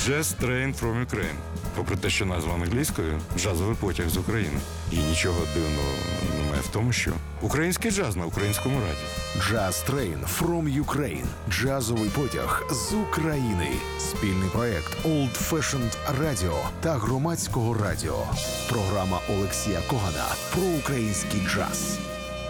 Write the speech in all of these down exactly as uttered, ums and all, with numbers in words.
Jazz Train from Ukraine. Попри те, що назва англійською, джазовий потяг з України. І нічого дивного немає в тому, що український джаз на українському радіо. Jazz Train from Ukraine. Джазовий потяг з України. Спільний проект Old Fashioned Radio та Громадського радіо. Програма Олексія Когана про український джаз.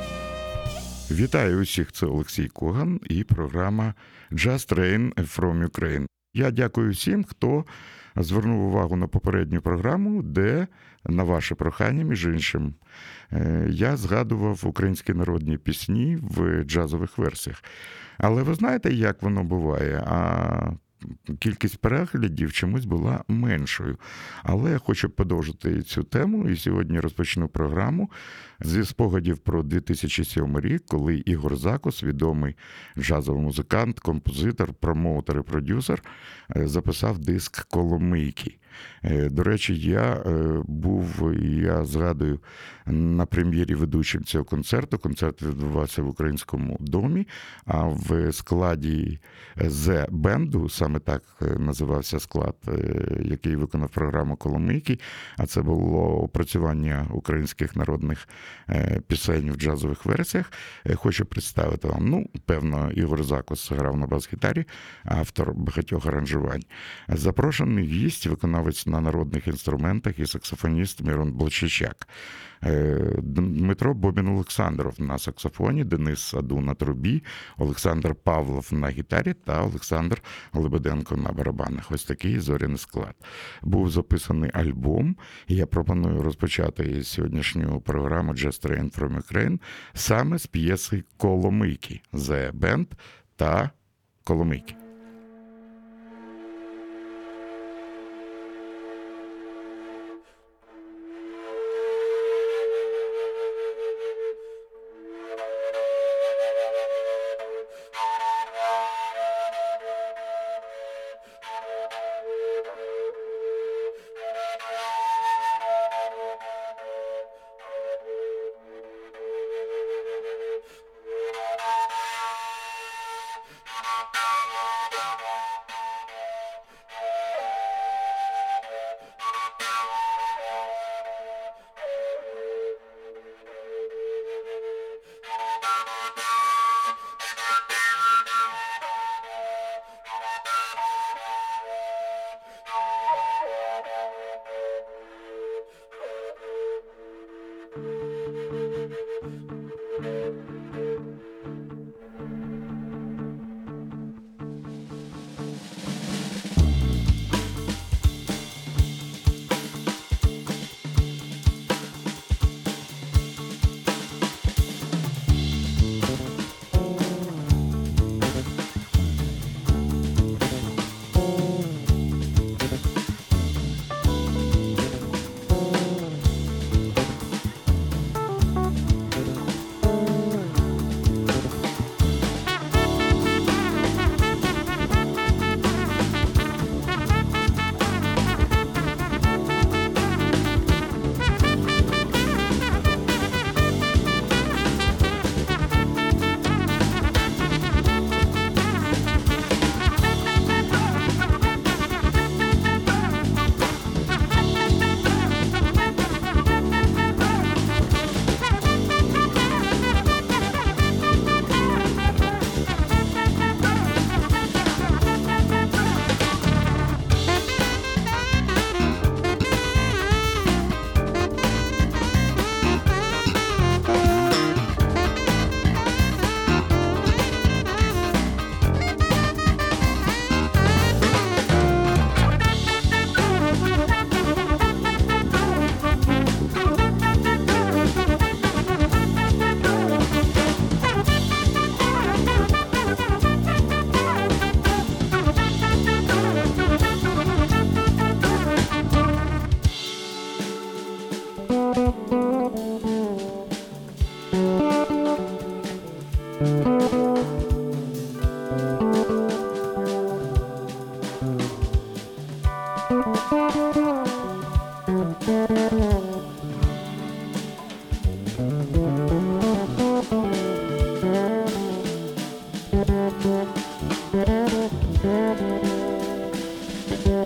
Вітаю усіх, це Олексій Коган і програма Jazz Train from Ukraine. Я дякую всім, хто звернув увагу на попередню програму, де, на ваше прохання, між іншим, я згадував українські народні пісні в джазових версіях. Але ви знаєте, як воно буває? А кількість переглядів чомусь була меншою. Але я хочу продовжити цю тему, і сьогодні розпочну програму зі спогадів про дві тисячі сьомий рік, коли Ігор Закус, відомий джазовий музикант, композитор, промоутер і продюсер, записав диск «Коломийки». До речі, я був, я згадую, на прем'єрі ведучим цього концерту. Концерт відбувався в Українському домі, а в складі «Зе-бенду», саме так називався склад, який виконав програму «Коломийки», а це було опрацювання українських народних пісень в джазових версіях. Хочу представити вам, ну, певно, Ігор Закус грав на бас-гітарі, автор багатьох аранжувань. Запрошений гість, виконавець на народних інструментах і саксофоніст Мирон Блащичак. Дмитро Бобін-Олександров на саксофоні, Денис Аду на трубі, Олександр Павлов на гітарі та Олександр Лебеденко на барабанах. Ось такий зоряний склад. Був записаний альбом, і я пропоную розпочати сьогоднішню програму Jazz Train from Ukraine саме з п'єси «Коломийки» «Зе Бенд» та «Коломийки». Thank you.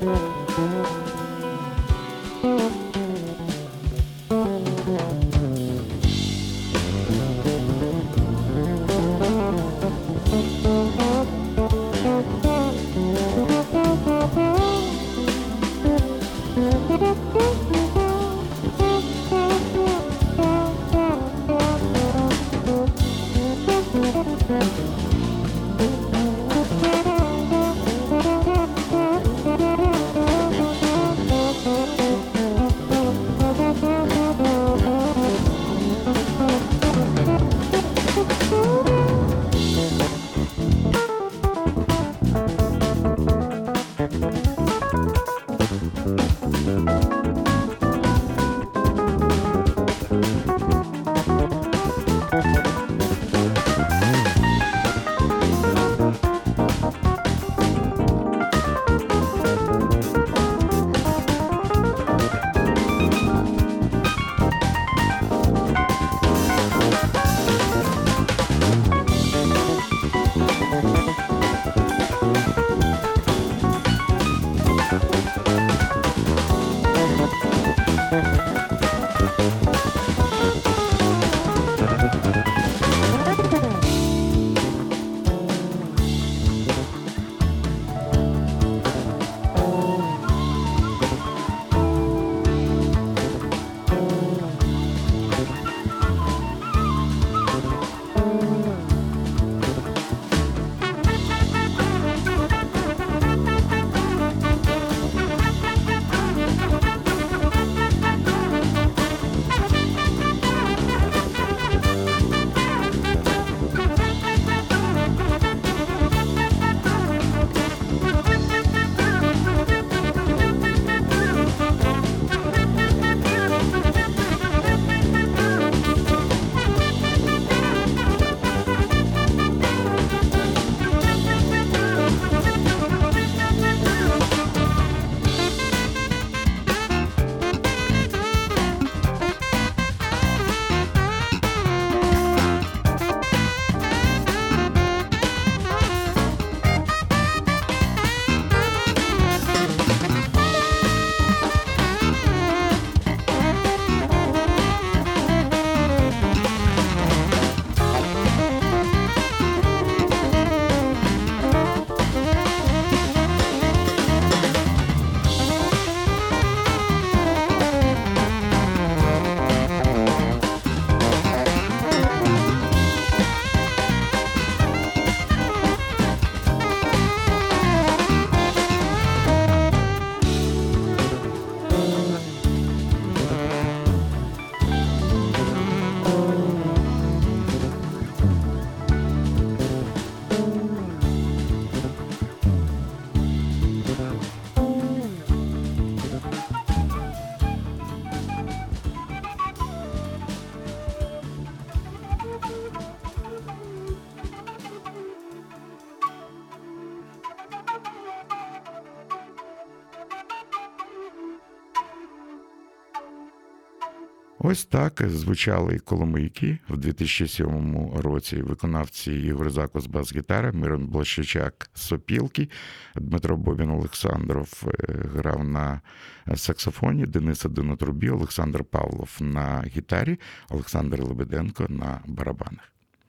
Ось так звучали коломийки в дві тисячі сьомому році. Виконавці Ігор Закус бас-гітара, Мирон Блащичак сопілки, Дмитро Бобін Олександров грав на саксофоні, Денис Один на трубі, Олександр Павлов на гітарі, Олександр Лебеденко на барабанах.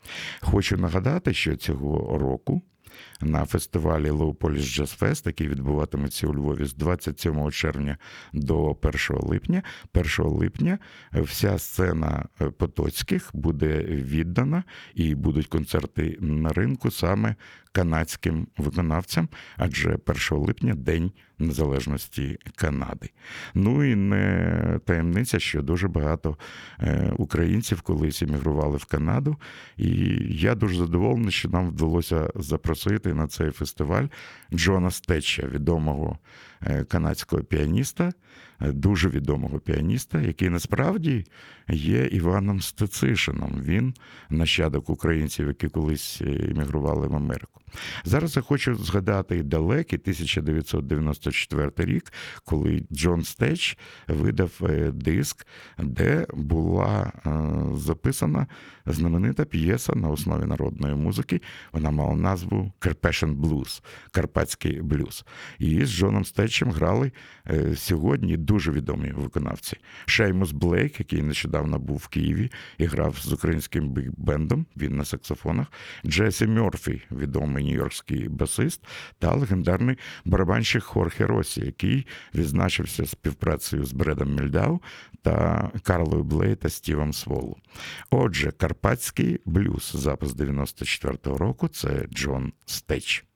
Хочу нагадати, що цього року на фестивалі Low Polish Jazz Fest, який відбуватиметься у Львові з двадцять сьомого червня до першого липня. першого липня вся сцена Потоцьких буде віддана і будуть концерти на ринку саме канадським виконавцям, адже першого липня – День Незалежності Канади. Ну і не таємниця, що дуже багато українців колись емігрували в Канаду, і я дуже задоволений, що нам вдалося запросити на цей фестиваль Джона Стетча, відомого канадського піаніста, дуже відомого піаніста, який насправді є Іваном Стецишином. Він нащадок українців, які колись емігрували в Америку. Зараз я хочу згадати далекий тисяча дев'ятсот дев'яносто четвертий рік, коли Джон Стетч видав диск, де була записана знаменита п'єса на основі народної музики. Вона мала назву «Carpathian Blues» – «Карпатський блюз». І з Джоном Стетчем Стечем грали е, сьогодні дуже відомі виконавці. Шеймус Блейк, який нещодавно був в Києві і грав з українським бig-бендом, він на саксофонах, Джесі Мерфі, відомий нью-йоркський басист, та легендарний барабанщик Хорхе Росі, який відзначився співпрацею з Бредом Мільдау та Карлою Блей та Стівом Сволу. Отже, карпатський блюз, запис дев'яносто четвертого року, це Джон Стеч.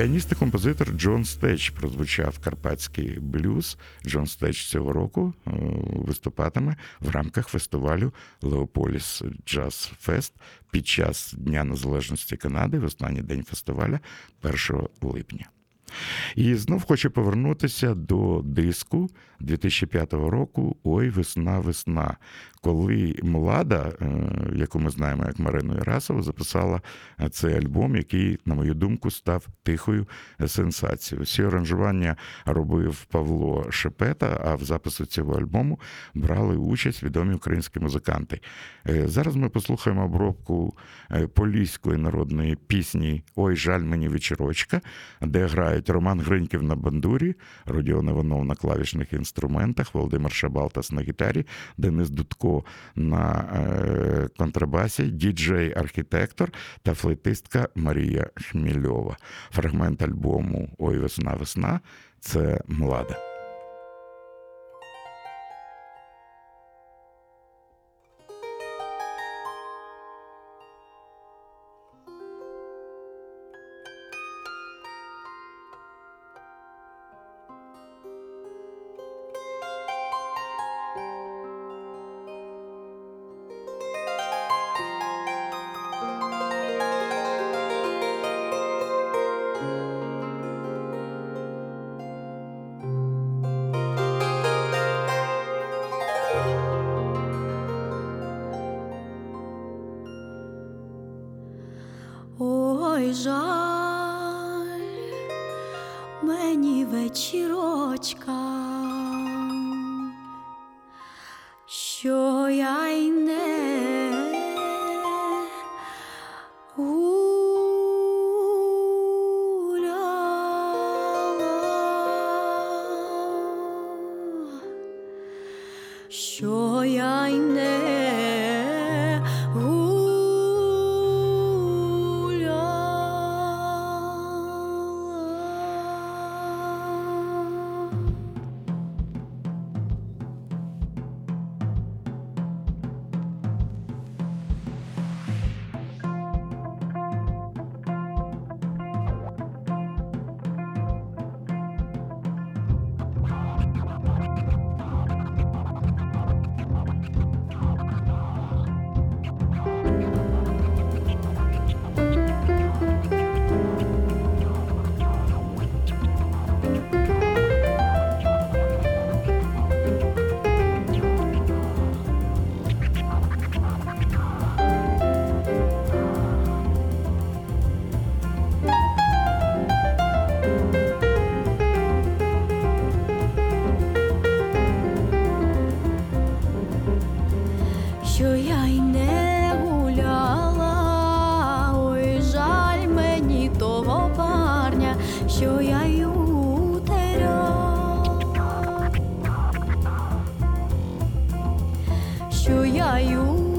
Піаніст і композитор Джон Стеч прозвучав карпатський блюз. Джон Стеч цього року виступатиме в рамках фестивалю Леополіс Джаз Фест під час Дня Незалежності Канади в останній день фестиваля першого липня. І знов хочу повернутися до диску дві тисячі п'ятого року «Ой, весна, весна», коли Млада, яку ми знаємо як Марину Ірасову, записала цей альбом, який, на мою думку, став тихою сенсацією. Всі аранжування робив Павло Шепета, а в записі цього альбому брали участь відомі українські музиканти. Зараз ми послухаємо обробку поліської народної пісні «Ой, жаль мені вечірочка», де грають Роман Гриньків на бандурі, Родіон Іванов на клавішних інструментах, Володимир Шабалтас на гітарі, Денис Дудко на контрабасі, діджей-архітектор та флейтистка Марія Хмільова. Фрагмент альбому «Ой, весна, весна» – це «Млада». Ой, жаль мені вечірочка, що я й не гуляла, що я й не що я й не гуляла, ой, жаль мені того парня, що я й утеряла, що я й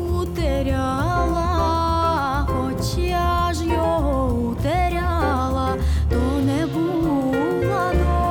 утеряла, хоч я ж його утеряла, то не була дома.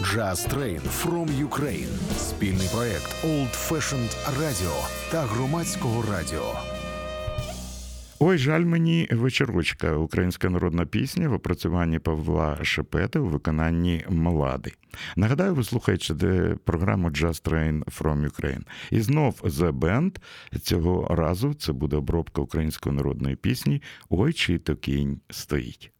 Jazz Train from Ukraine – спільний проект Old Fashioned Radio та Громадського радіо. Ой, жаль мені вечорочка. Українська народна пісня в опрацюванні Павла Шепети у виконанні Млади. Нагадаю, ви слухаєте програму Jazz Train from Ukraine. І знов The Band. Цього разу це буде обробка української народної пісні «Ой, чий то кінь стоїть».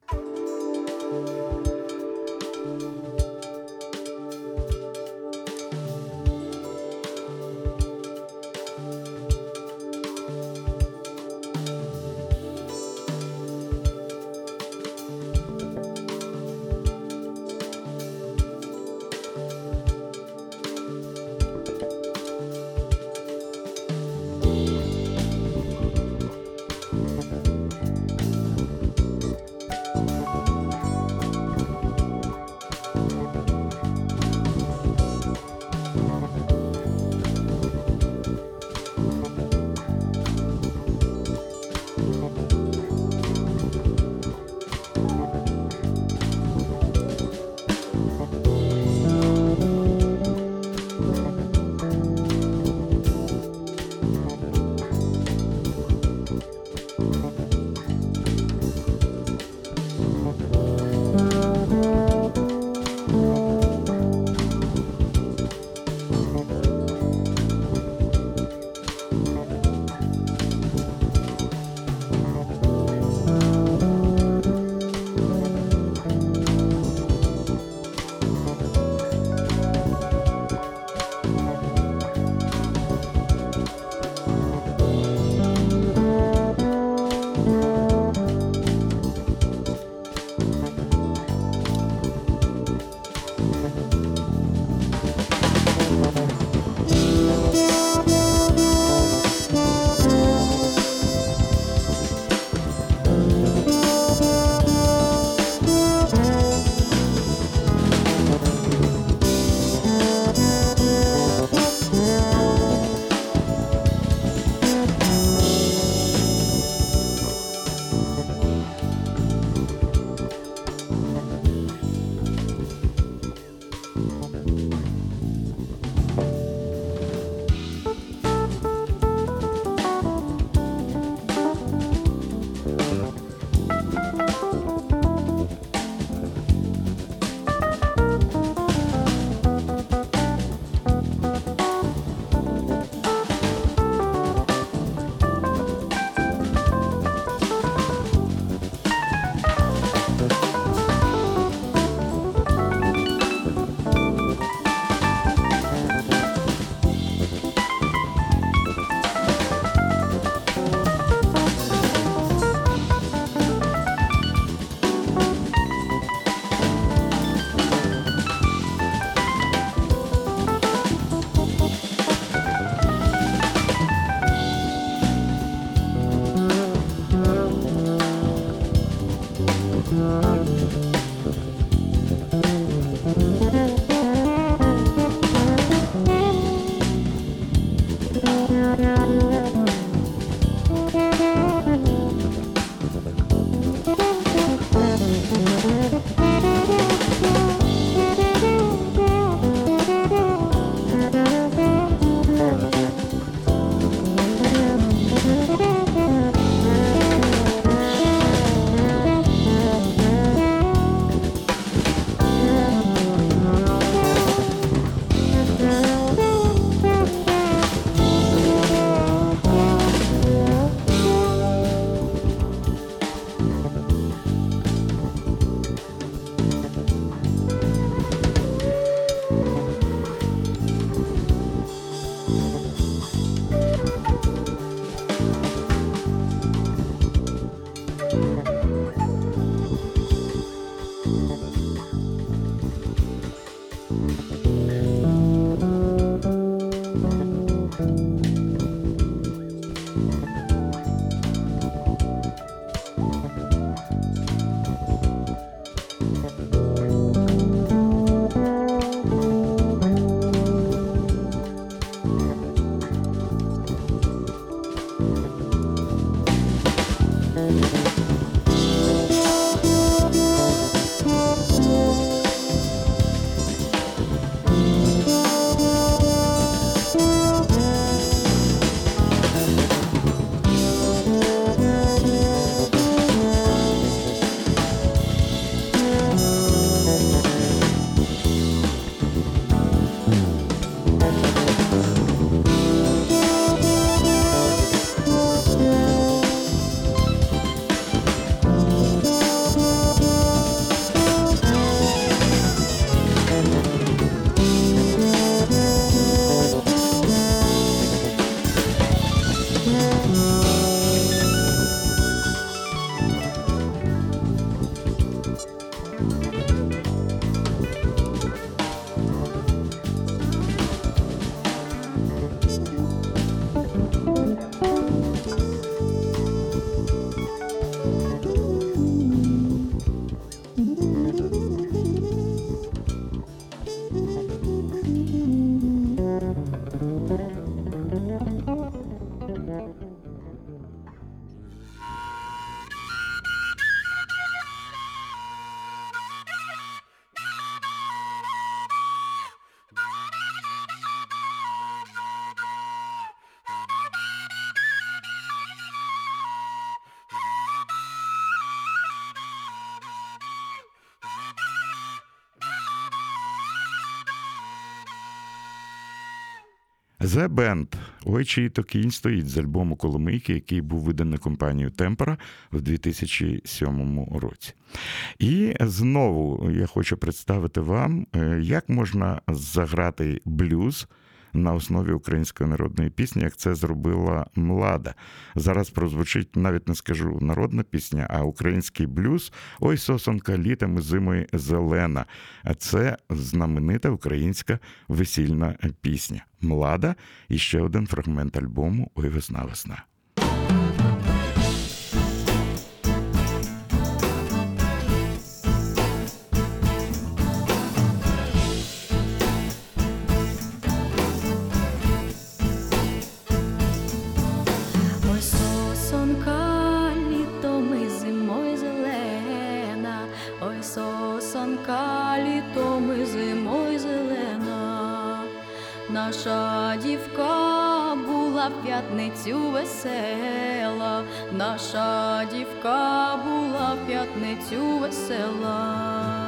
The Band «Ой, чий то кінь стоїть» з альбому «Коломийки», який був виданий компанією «Темпора» в дві тисячі сьомому році. І знову я хочу представити вам, як можна заграти блюз на основі української народної пісні, як це зробила Млада. Зараз прозвучить, навіть не скажу народна пісня, а український блюз «Ой, сосонка літом зимою зелена». А це знаменита українська весільна пісня. Млада і ще один фрагмент альбому «Ой, весна, весна». Ой, сосонка літом і зимою зелена, ой, сосонка літом і зимою зелена. Наша дівка була в п'ятницю весела, наша дівка була в п'ятницю весела.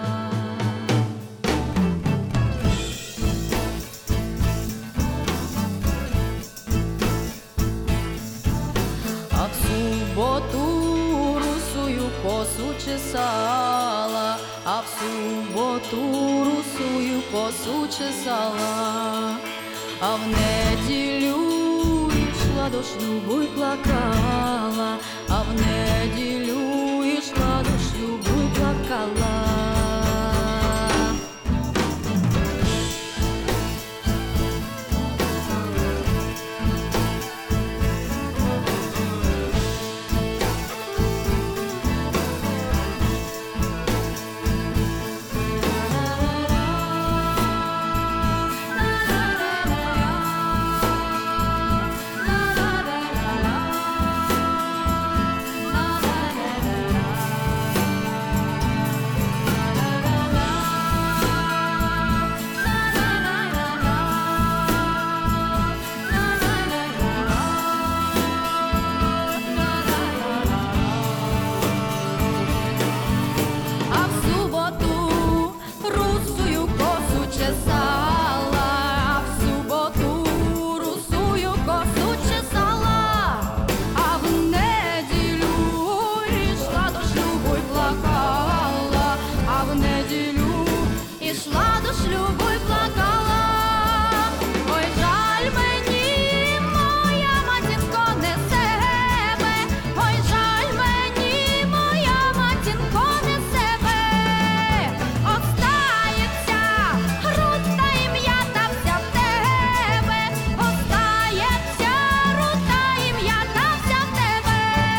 А в суботу русую косу чесала, а в суботу русую косу чесала, а в неділю йшла до шлюбу й плакала, а в неділю йшла до шлюбу й плакала. А в суботу русую косу чесала, а в суботу русую косу чесала, а в неділю йшла до шлюбу й плакала, а в неділю йшла до шлюбу й плакала. Ой, жаль мені, моя матінко, не себе, ой, жаль мені, моя матінко, не себе. Остається рута ім'я та вся в тебе, остається рута ім'я та вся в тебе.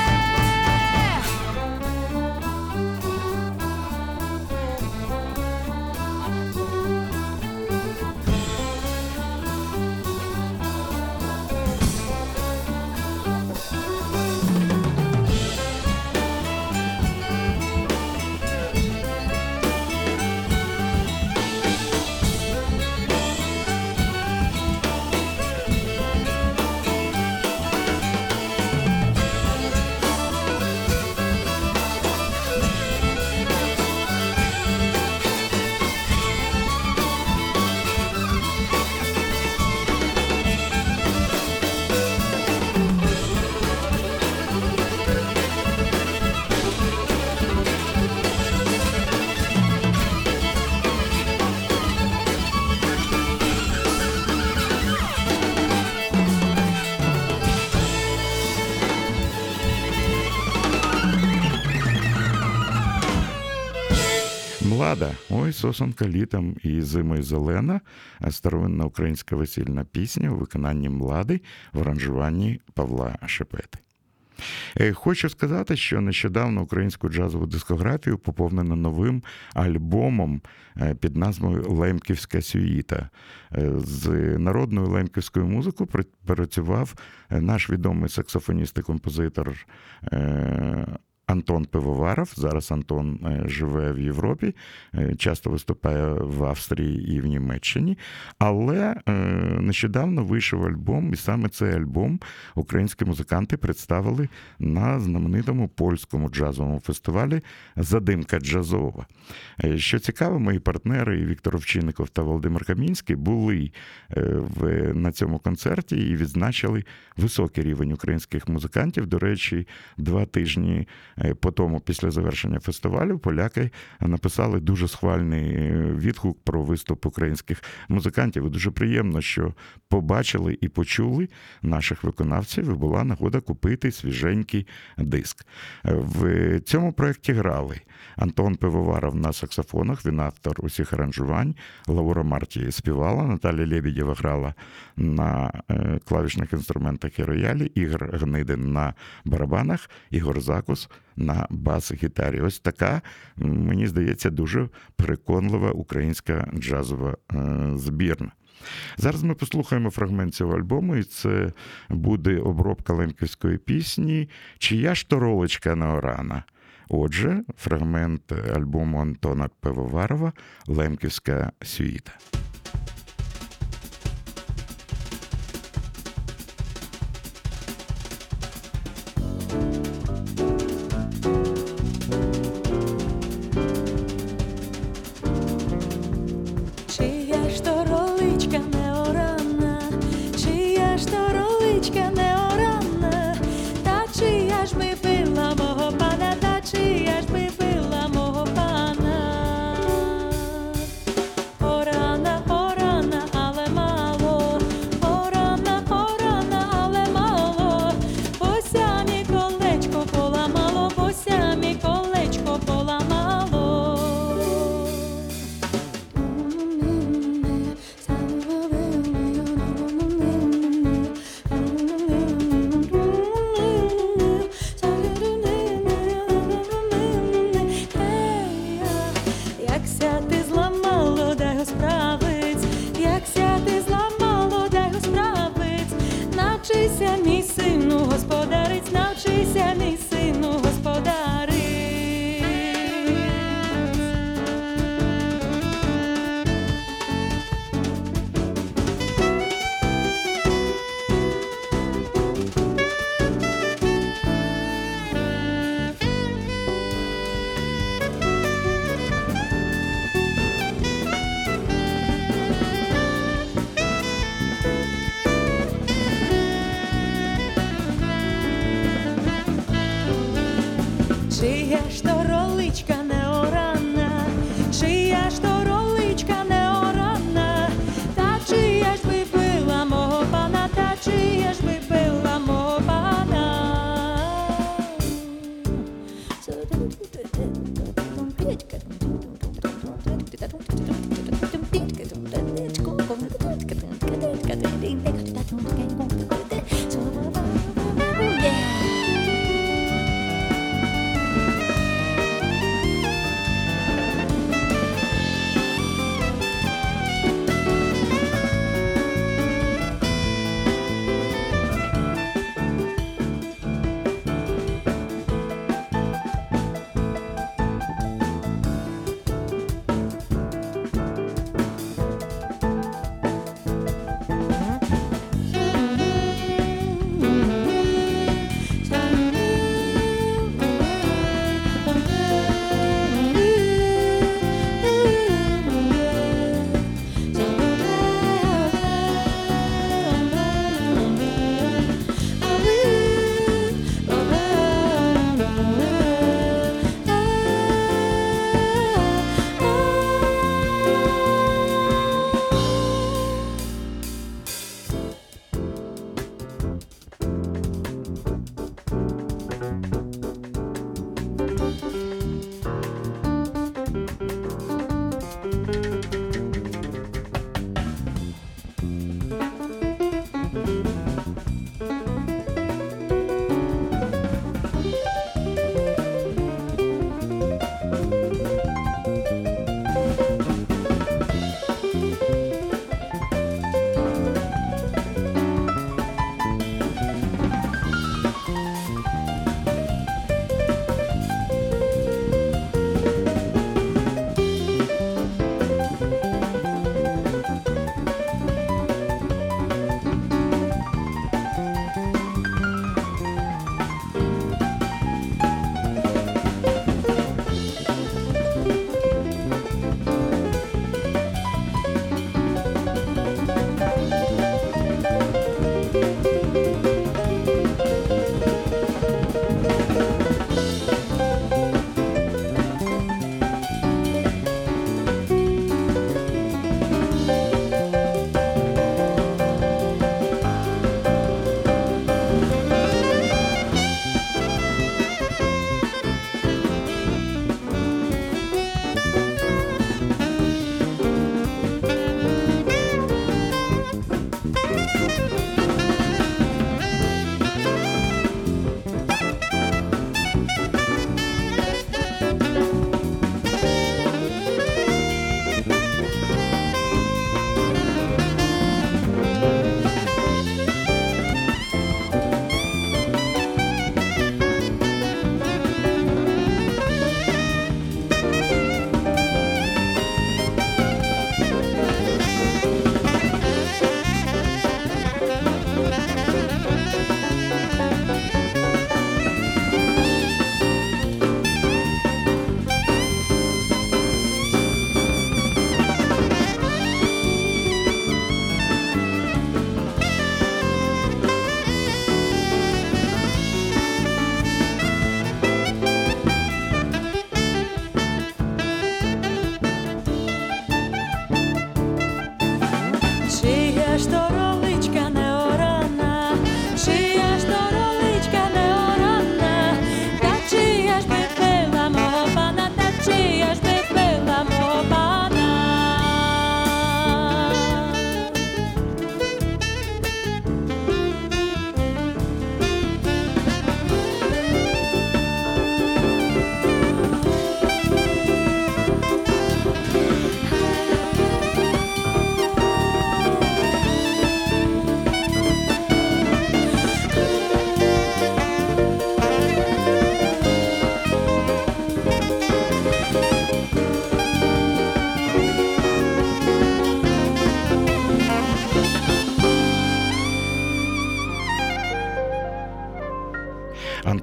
Млада, ой, сосонка літом і зимою зелена, старовинна українська весільна пісня у виконанні Млади в аранжуванні Павла Шепети. Хочу сказати, що нещодавно українську джазову дискографію поповнено новим альбомом під назвою «Лемківська сюїта». З народною лемківською музикою працював наш відомий саксофоніст і композитор Антон Пивоваров. Зараз Антон е, живе в Європі, е, часто виступає в Австрії і в Німеччині. Але е, нещодавно вийшов альбом, і саме цей альбом українські музиканти представили на знаменитому польському джазовому фестивалі «Задимка джазова». Е, Що цікаво, мої партнери і Віктор Овчинников та Володимир Камінський були е, в, на цьому концерті і відзначили високий рівень українських музикантів. До речі, два тижні по тому, після завершення фестивалю, поляки написали дуже схвальний відгук про виступ українських музикантів. І дуже приємно, що побачили і почули наших виконавців, і була нагода купити свіженький диск. В цьому проєкті грали Антон Пивоваров на саксофонах, він автор усіх аранжувань, Лаура Марті співала, Наталя Лебедєва грала на клавішних інструментах і роялі, Ігор Гнидин на барабанах, Ігор Закус на бас-гітарі. Ось така, мені здається, дуже переконлива українська джазова збірна. Зараз ми послухаємо фрагмент цього альбому, і це буде обробка лемківської пісні «Чия ж то ролечка на орана?». Отже, фрагмент альбому Антона Пивоварова «Лемківська сюїта». Чия ж то роличка не орана, чия ж то роличка не орана, та чия ж би пила мого пана, та чия ж би пила мого пана. Орана, орана, але мало, орана, орана, але мало, бося мі колечко поламало, бося мі колечко поламало. Як сяти зламало, дай го справиць, як сяти зламало, дай го справиць, навчися, мій сину, господариць, навчися, мій сину, господариць.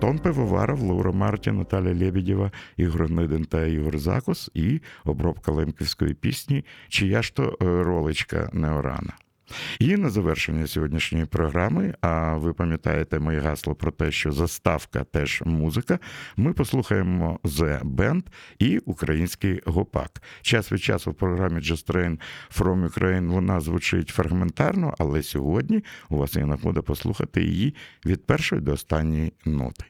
Антон Пивоваров, Лаура Марті, Наталя Лебедєва, Ігор Гнидин та Ігор Закус і обробка лемківської пісні «Чия ж то ролечка Неорана». І на завершення сьогоднішньої програми, а ви пам'ятаєте моє гасло про те, що заставка теж музика, ми послухаємо The Band і український гопак. Час від часу в програмі Just Train from Ukraine вона звучить фрагментарно, але сьогодні у вас є нагода послухати її від першої до останньої ноти.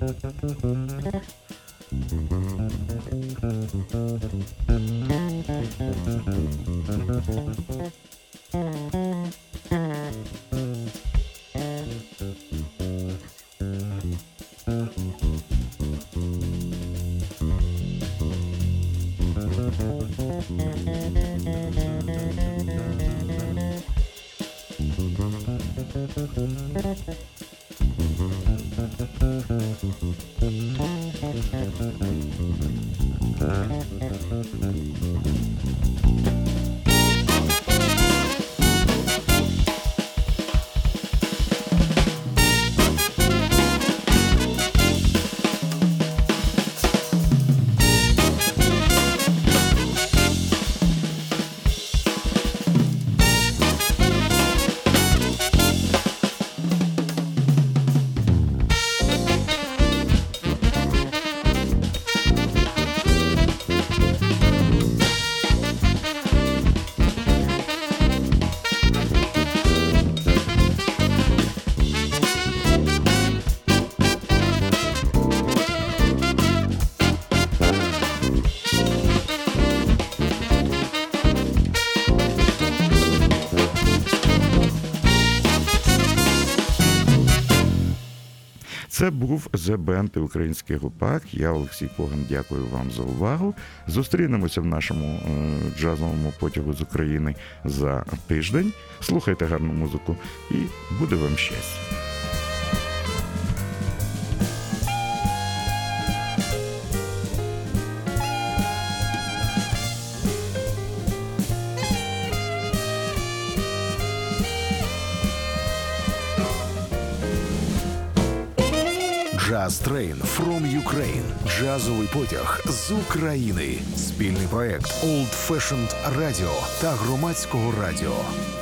Це був The Band і український гупак. Я, Олексій Коган, дякую вам за увагу. Зустрінемося в нашому е, джазовому потягу з України за тиждень. Слухайте гарну музику і буде вам щастя. Jazz Train from Ukraine. Джазовий потяг з України. Спільний проект Old Fashioned Radio та Громадського радіо.